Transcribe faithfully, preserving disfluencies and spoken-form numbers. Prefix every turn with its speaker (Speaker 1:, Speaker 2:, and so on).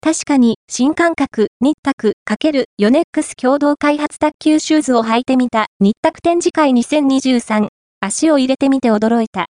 Speaker 1: 確かに、新感覚、ニッタク×ヨネックス共同開発卓球シューズを履いてみた、ニッタク展示会にせんにじゅうさん。足を入れてみて驚いた。